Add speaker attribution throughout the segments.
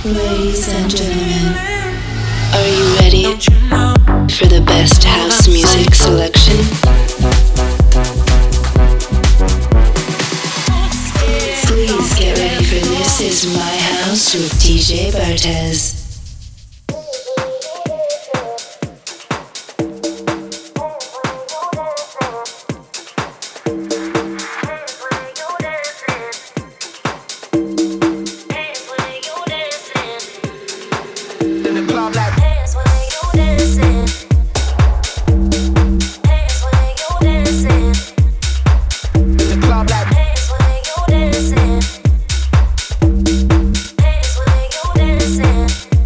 Speaker 1: Ladies and gentlemen, are you ready for the best house music selection? Please get ready for This Is My House with DJ Bartez.
Speaker 2: Dancing.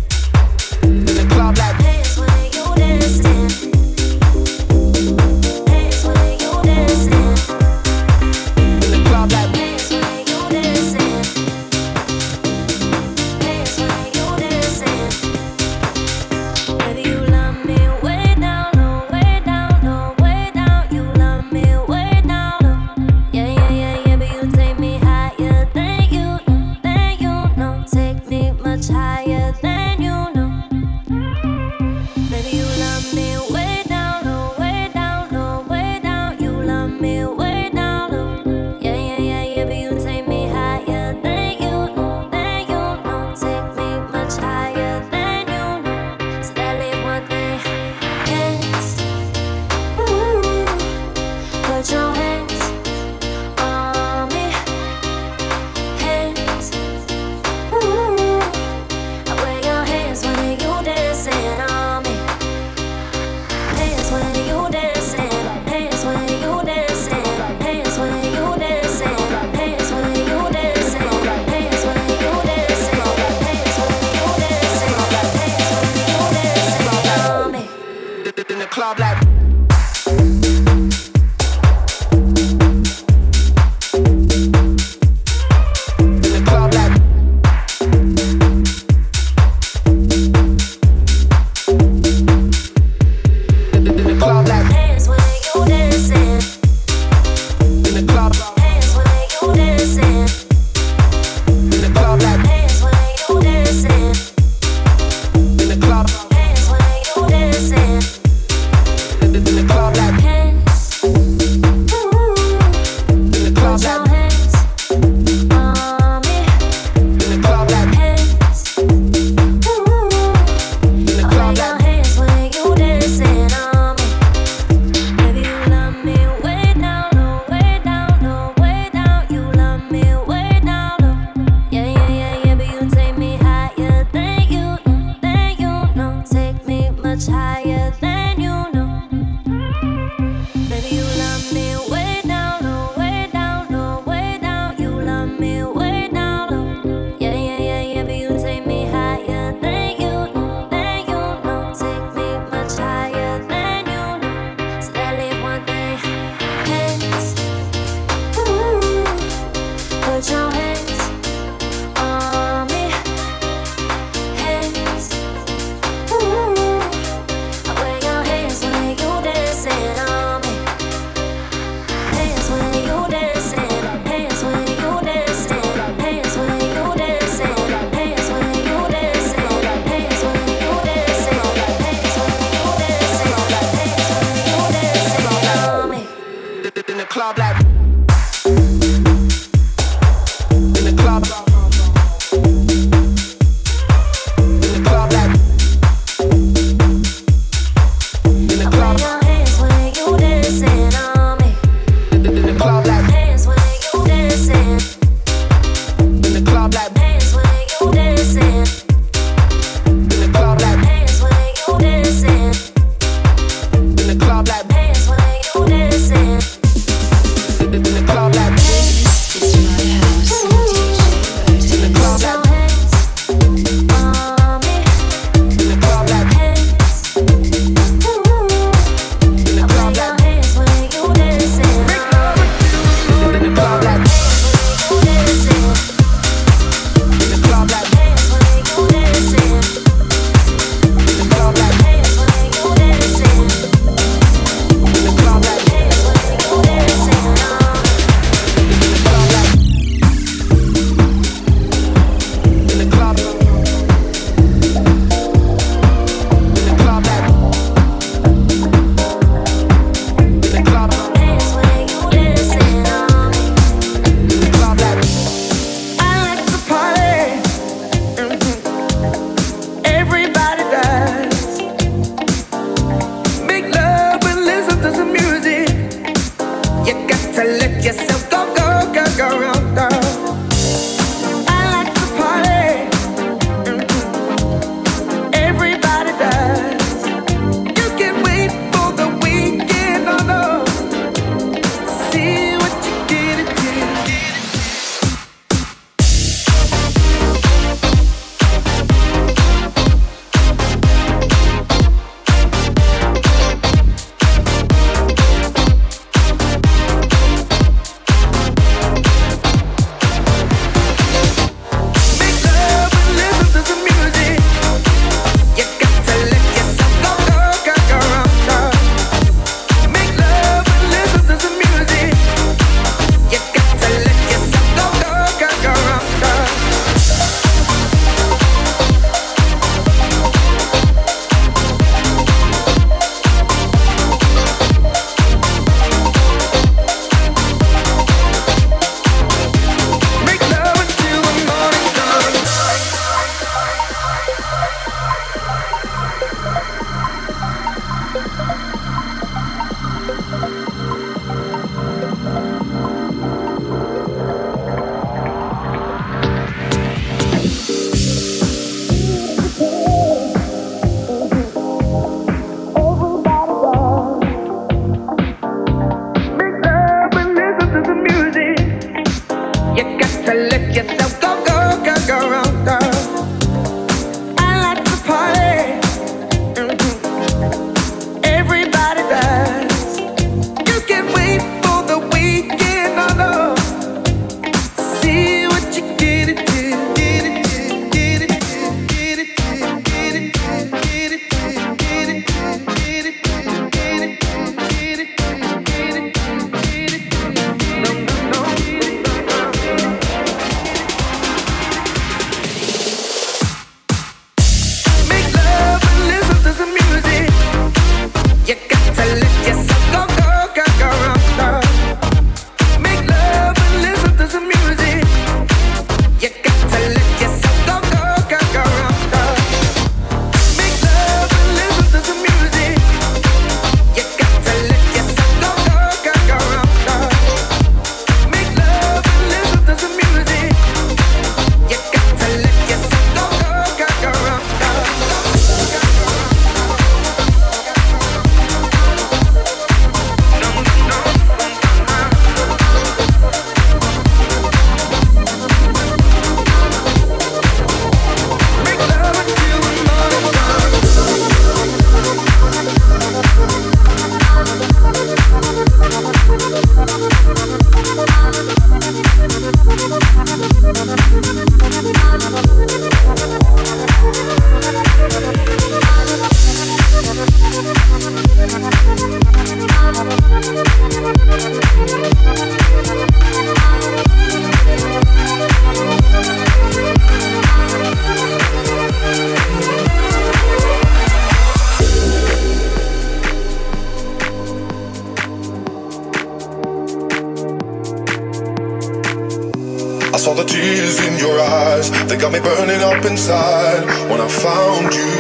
Speaker 2: they got me burning up inside. When I found you,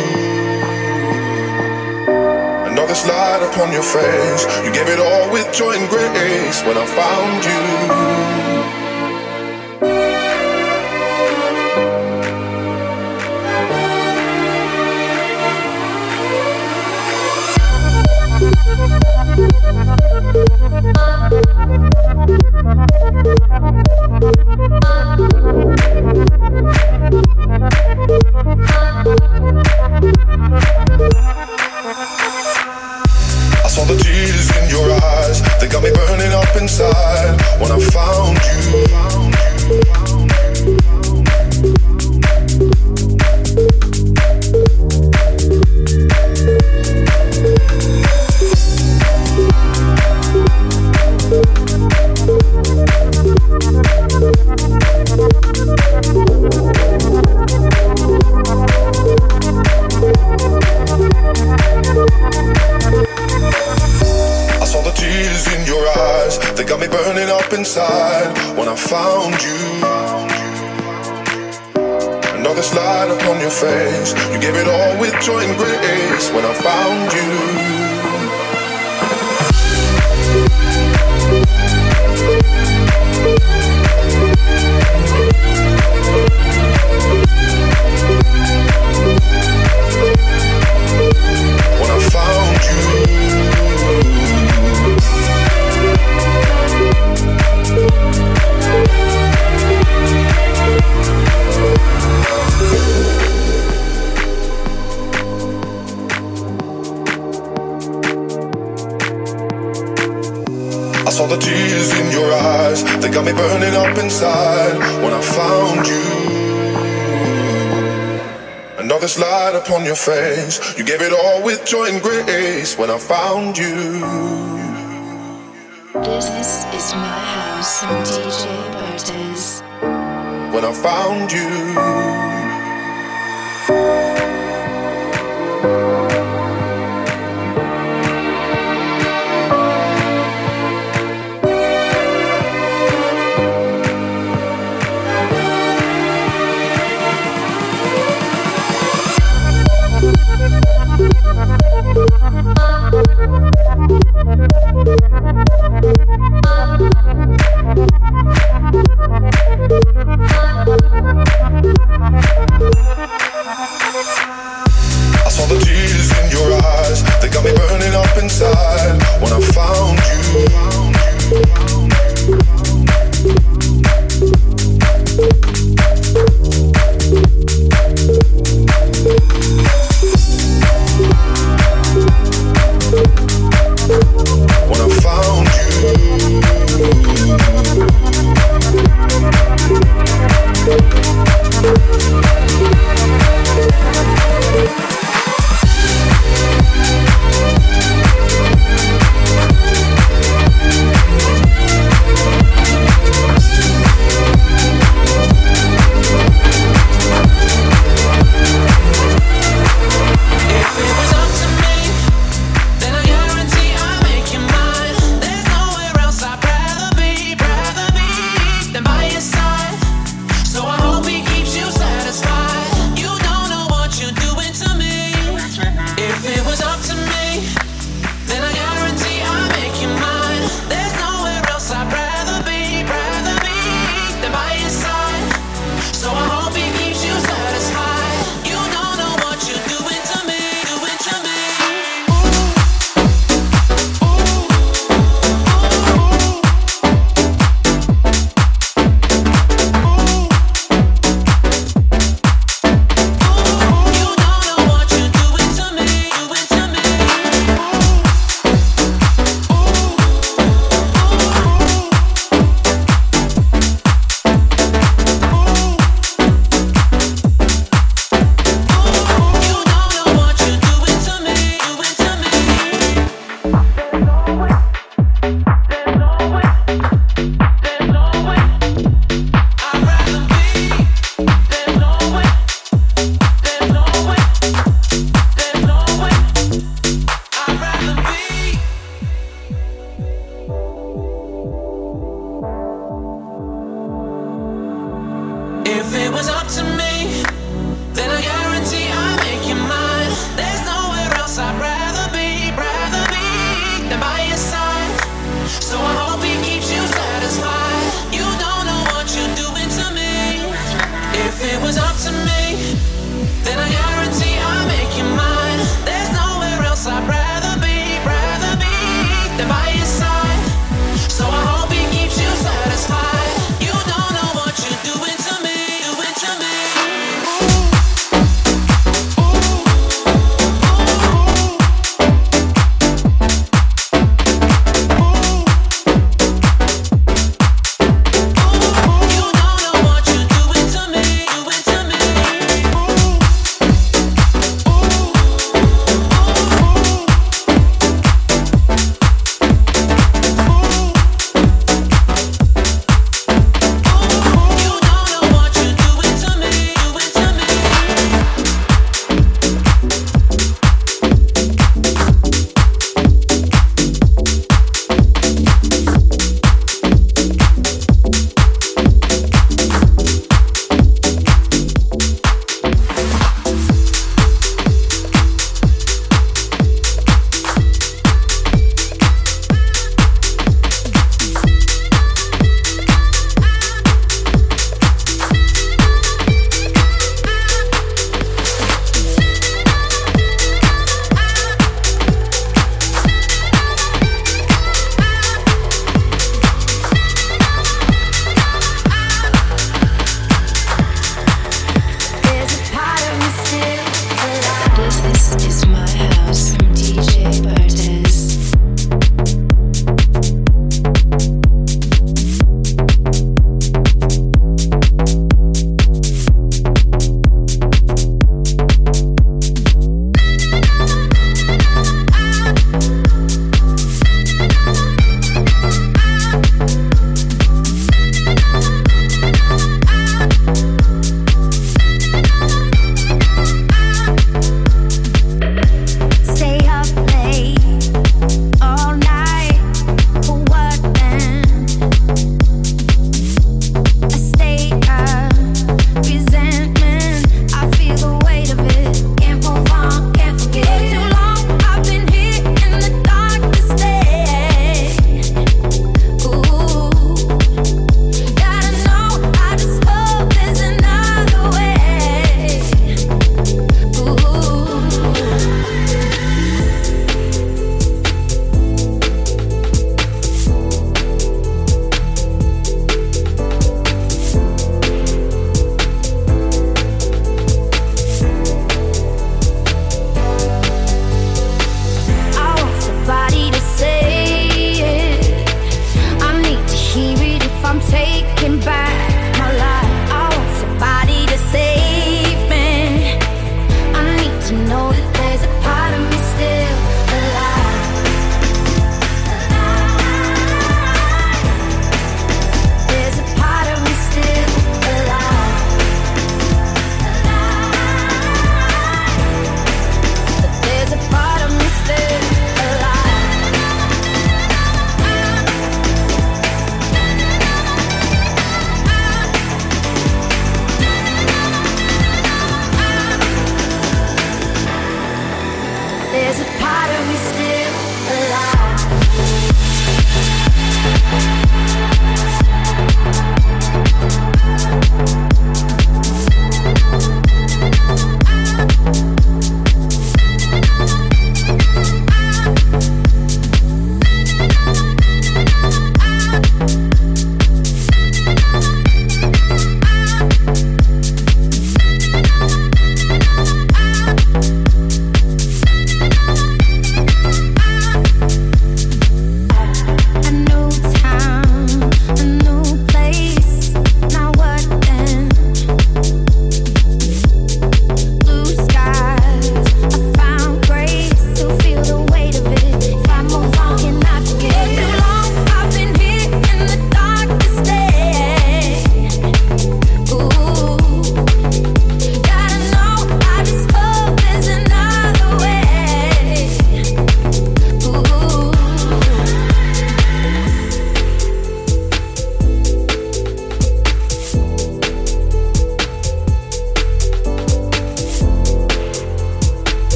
Speaker 2: another slide upon your face. You gave it all with joy and grace. When I found you, I saw the tears in your eyes, they got me burning up inside. When I found you, I saw the tears in your eyes, they got me burning up inside. When I found you, another slide upon your face. You gave it all with joy and grace. When I found you, when I found you, I saw the tears in your eyes, they got me burning up inside. When I found you, another slide upon your face. You gave it all with joy and grace. When I found you,
Speaker 1: This is my house, DJ Bartez.
Speaker 2: when I found you,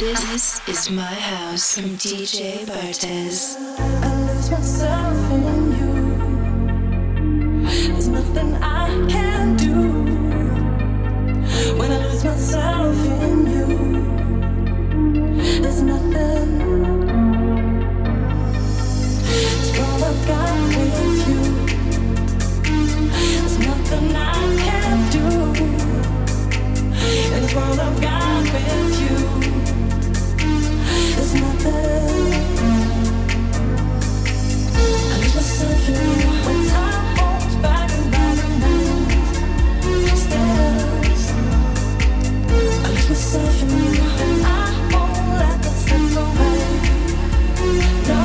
Speaker 1: This is my house from DJ Bartez.
Speaker 3: I lose myself in you. There's nothing I can do when I lose myself in you. There's nothing. It's all I've got with you. There's nothing I can do. It's all I've got with you. There's nothing. I lose myself in you when time holds back and I remain still. I lose myself in you and I won't let that slip away. No.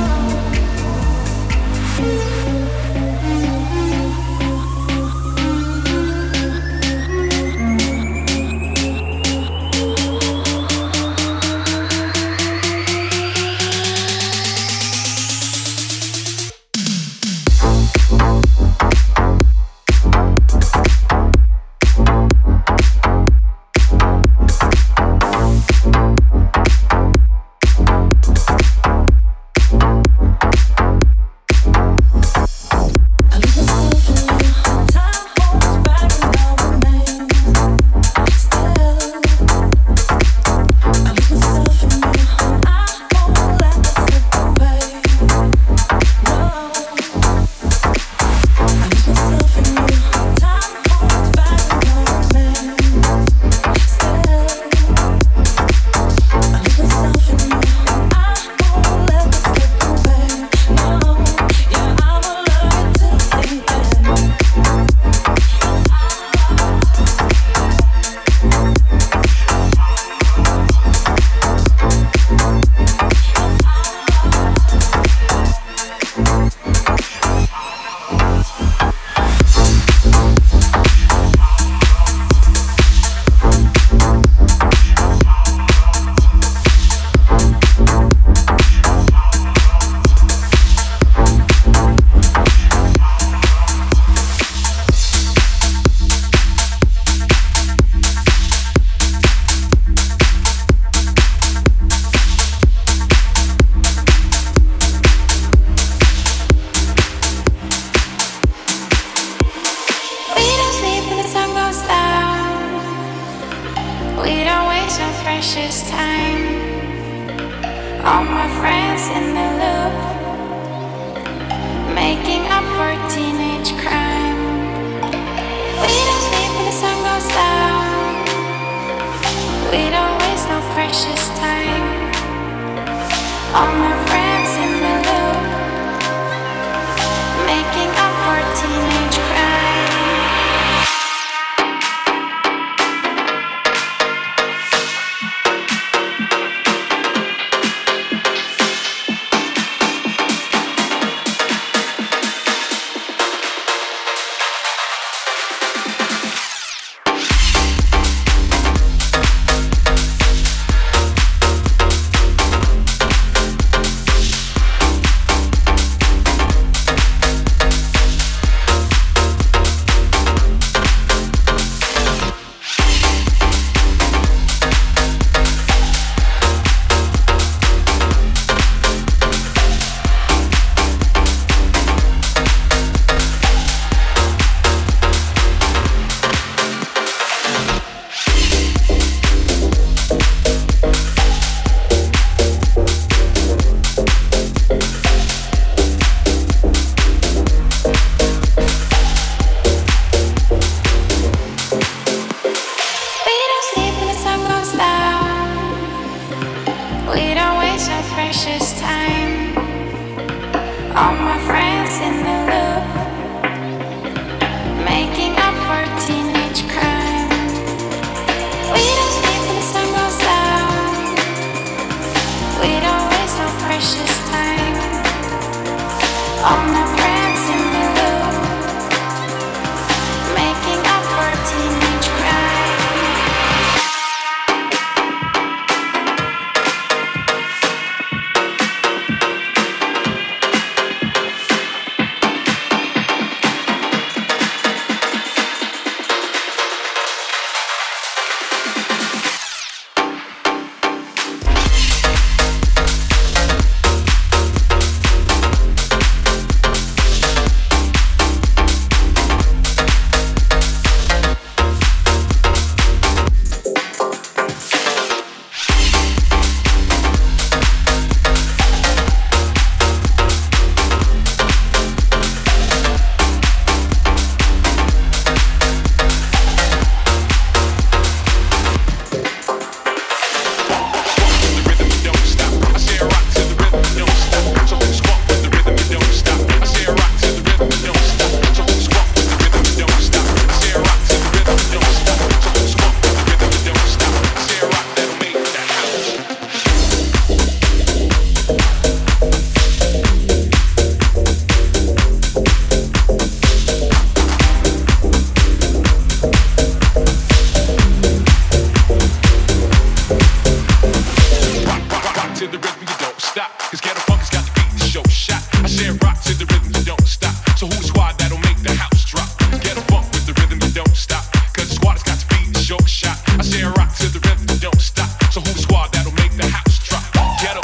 Speaker 4: to the rhythm, you don't stop. Cause ghetto funk has got the beat to show shot. I said rock to the rhythm, you don't stop. So who's the squad that'll make the house drop? Ghetto funk with the rhythm, you don't stop. Cause the squad has got the beat to show shot. I said rock to the rhythm, you don't stop. So who's the squad that'll make the house drop? Ghetto.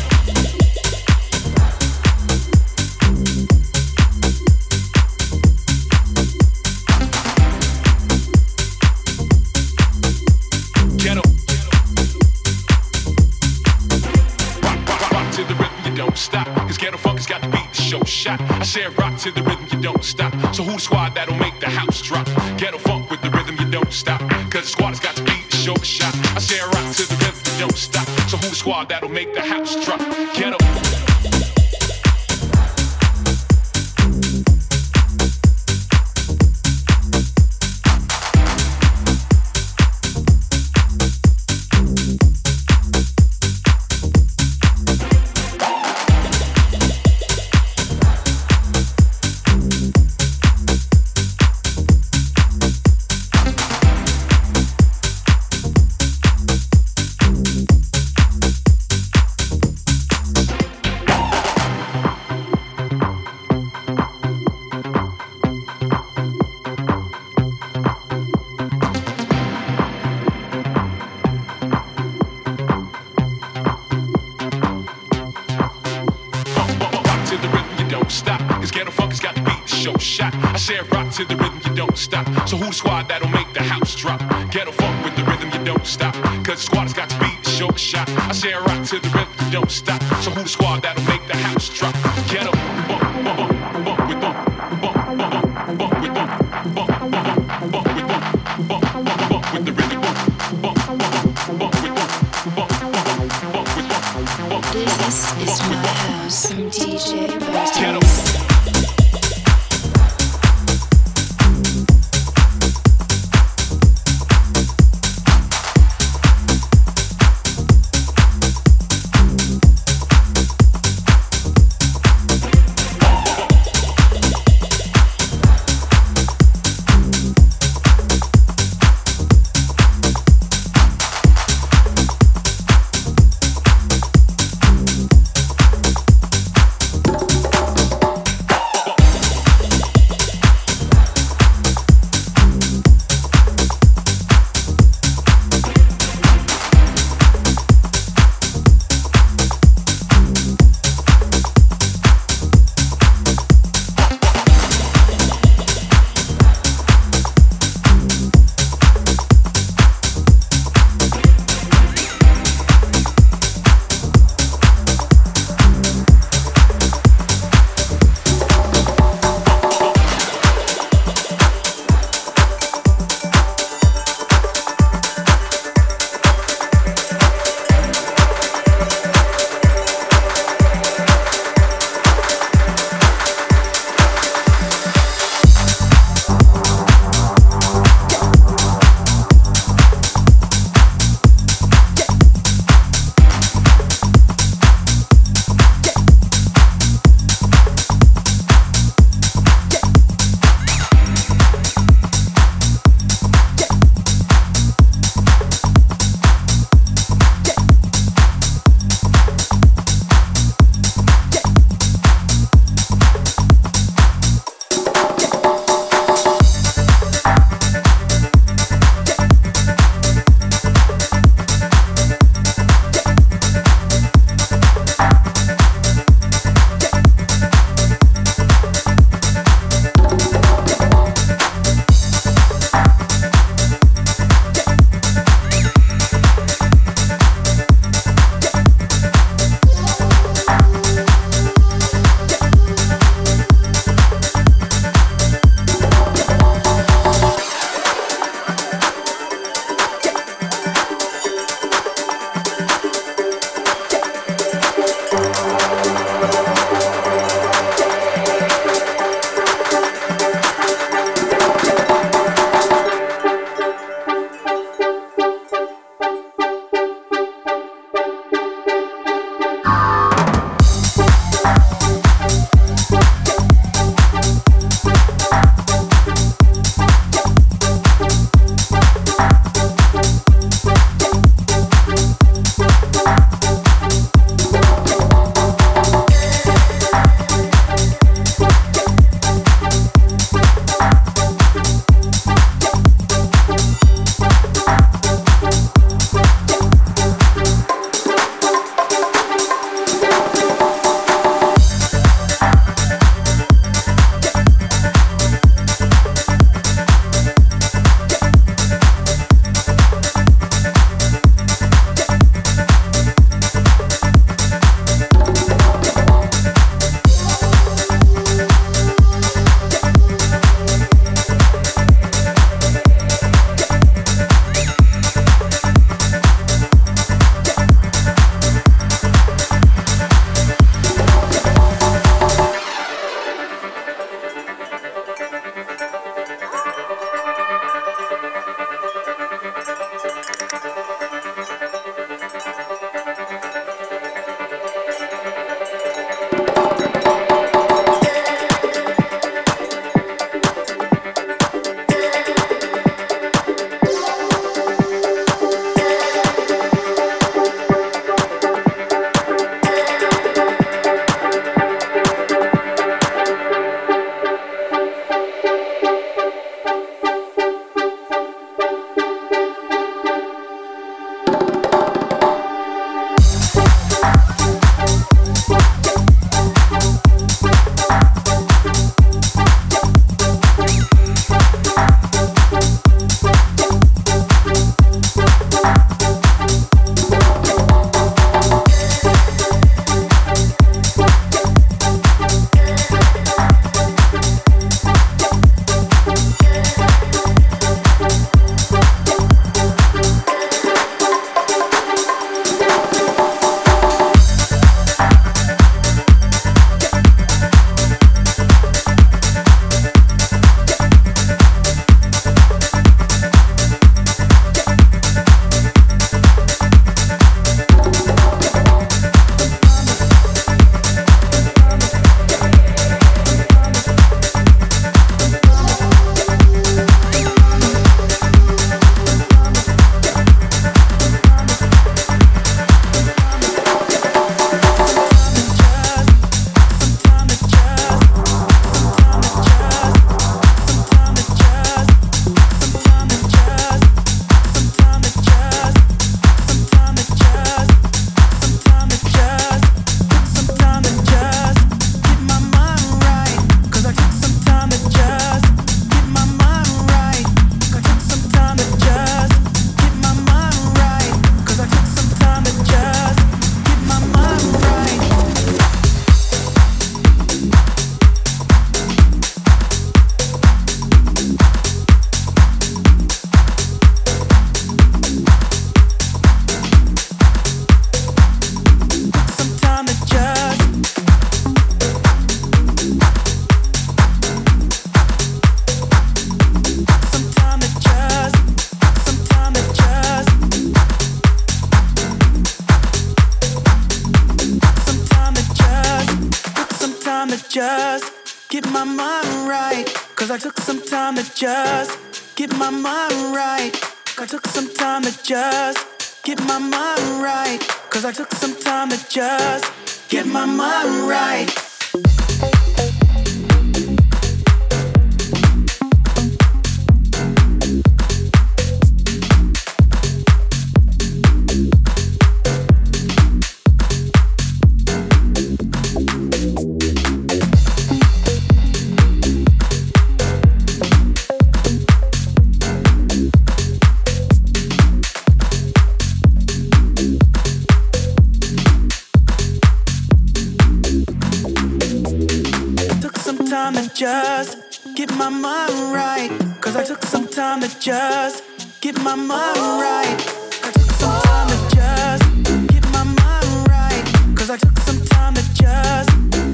Speaker 4: Stop, cause ghetto funk has got the beat to show shot. I said rock to the rhythm, you don't stop. So who the squad that'll make the house drop? Ghetto funk with the rhythm, you don't stop. Cause the squad has got the beat to show shot. I said rock to the rhythm, you don't stop. So who the squad that'll make the house drop? Ghetto. To the rhythm, you don't stop. So who the squad that'll make the house drop? Ghetto funk with the rhythm, you don't stop. Cause the squad has got the beat to show a shot. I say rock to the rhythm, you don't stop. So who the squad that'll make the house drop? Ghetto bump, bump, bump, bump with bump, bump, bump, bump with bump, bump, bump, bump with bump, bump, bump with the rhythm, bump, bump, bump with bump, bump, bump with bump, bump.
Speaker 1: This is my house from DJ Bartos.
Speaker 5: just get my mind right. Cause I took some time to just get my mind right. I took some time to just get my mind right. Cause I took some time to just get my mind right. Just get my mind right. Cause I took some time to just get my mind right. I took some time to just get my mind right. Cause I took some time to just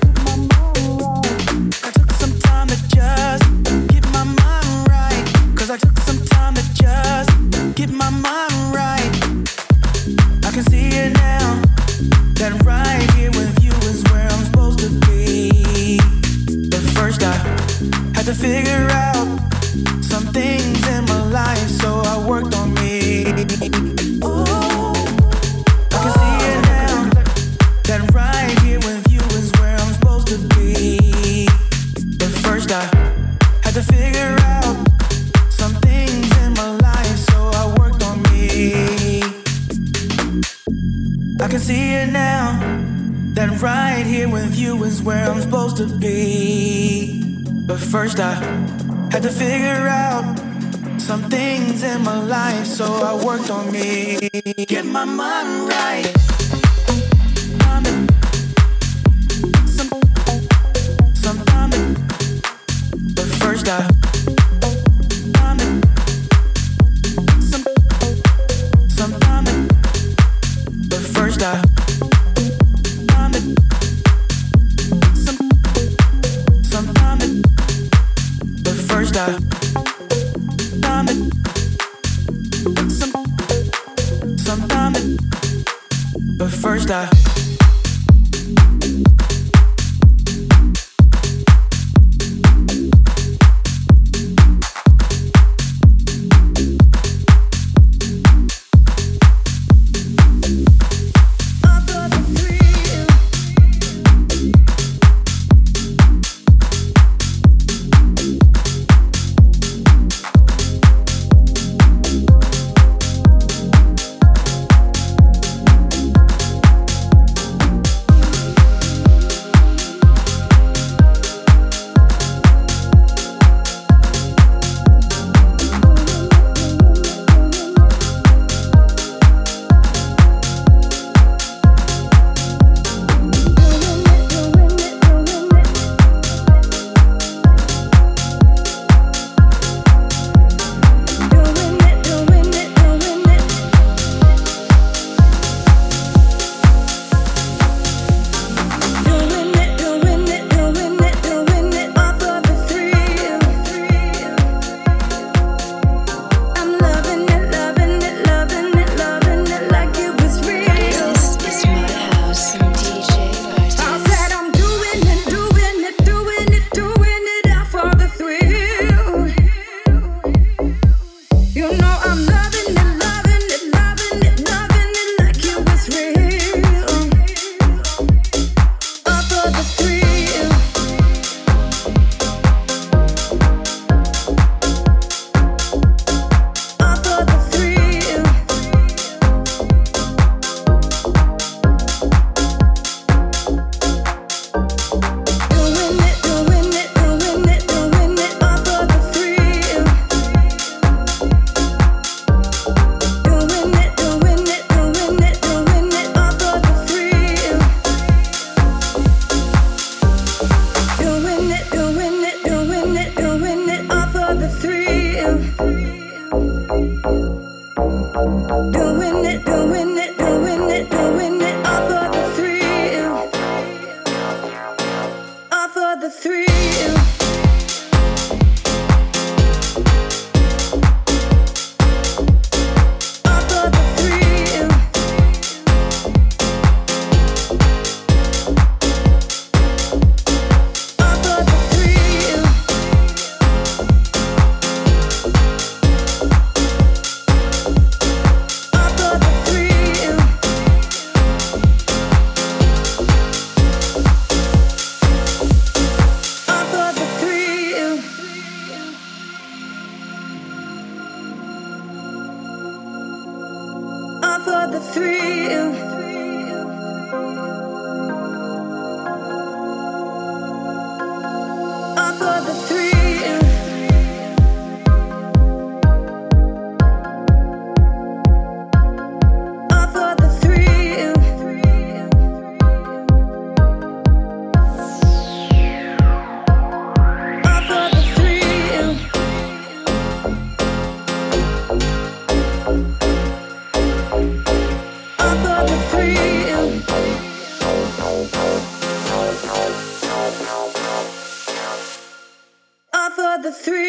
Speaker 5: I took some time to just get my mind right. Cause I took some time to just get my mind right. I can see it now, that right here with you is where I'm supposed to be. But first I had to figure out some things in my life, so I worked on me. Oh, I can see it now, that right here with you is where I'm supposed to be. But first I had to figure out some things in my life, so I worked on me. I can see it now, that right here with you is where I'm supposed to be. But first I had to figure out some things in my life, so I worked on me. Get my mind right. But first I But first I First I But first I
Speaker 3: the thrill.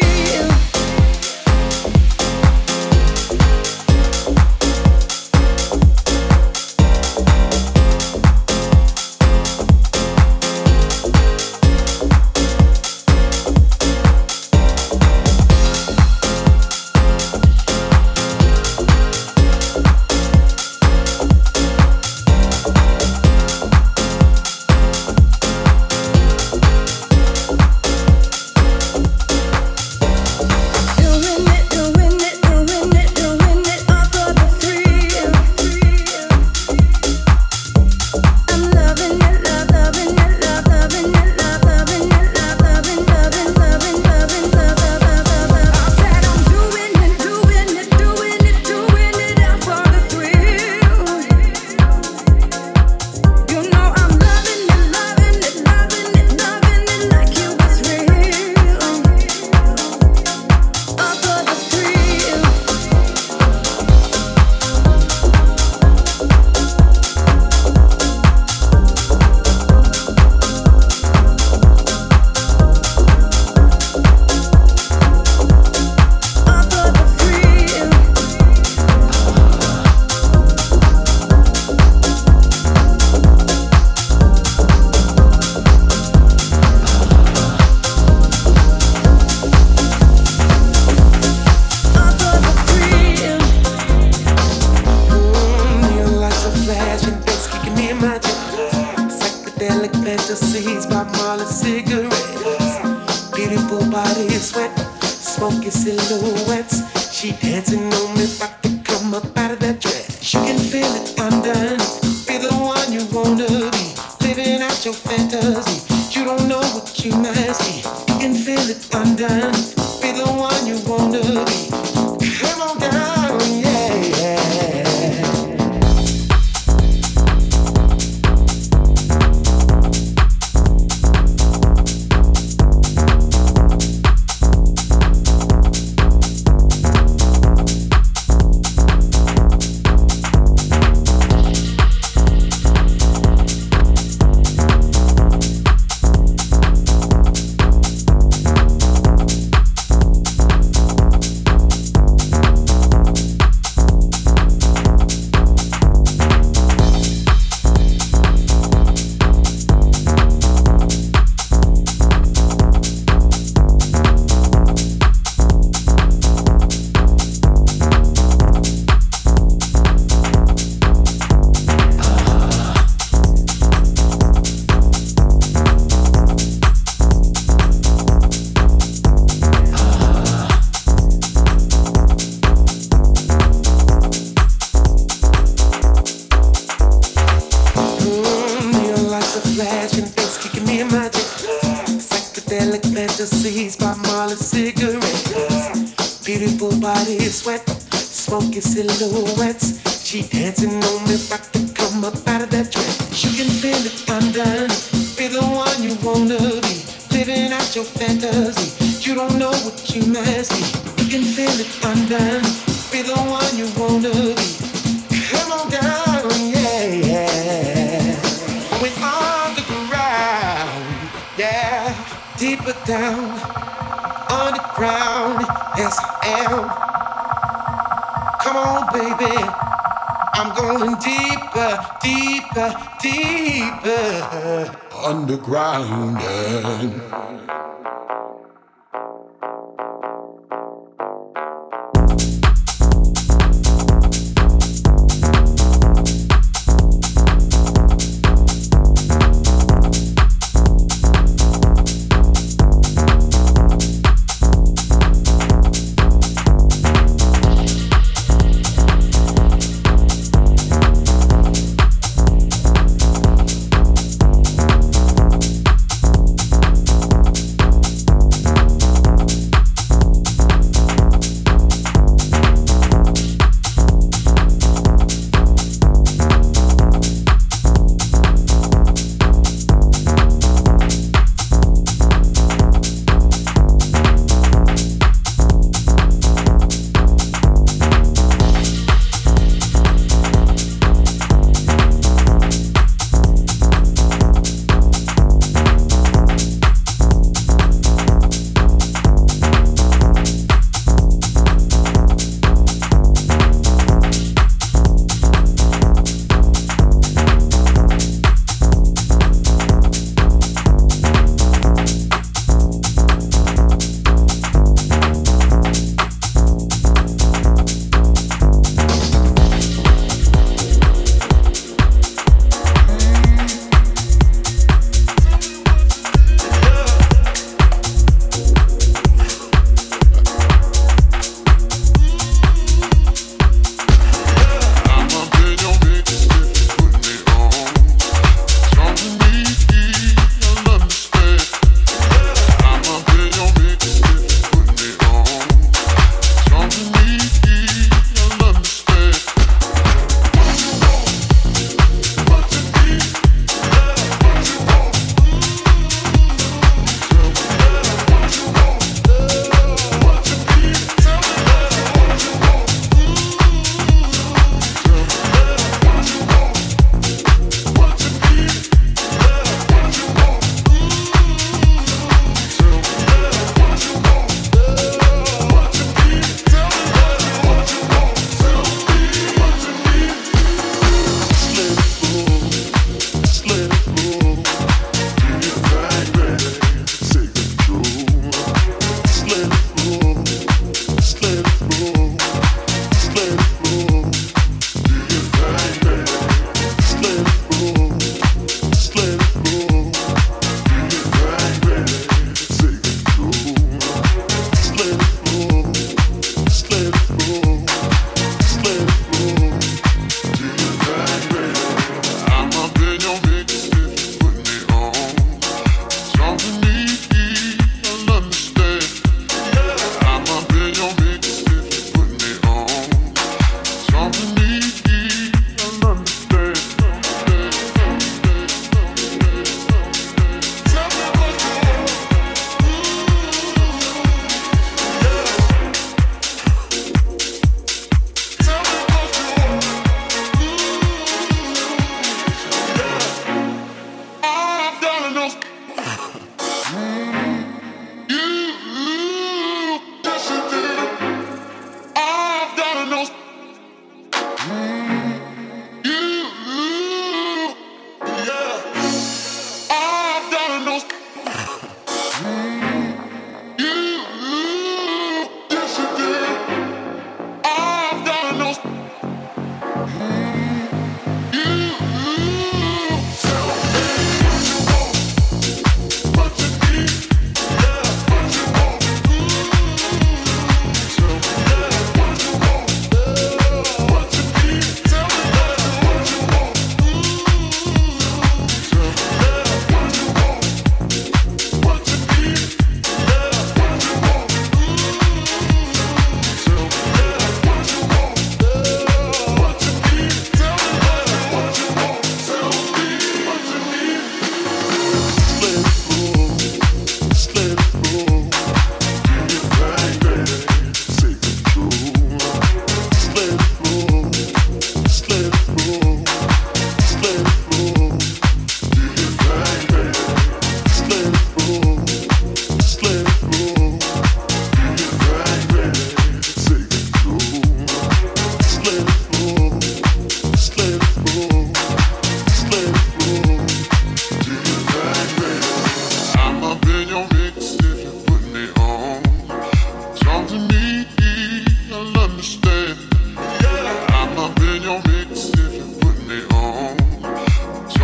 Speaker 2: Underground.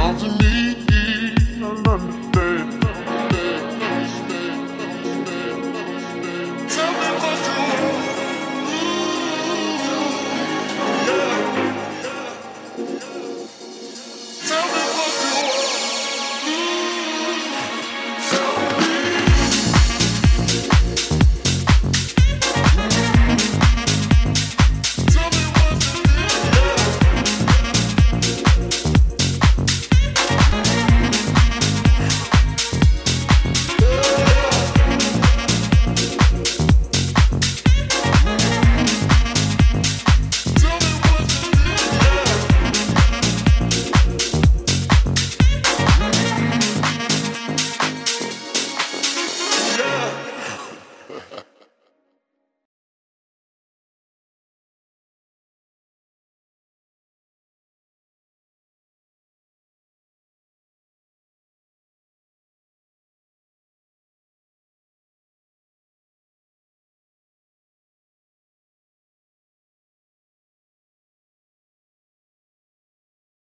Speaker 6: Loving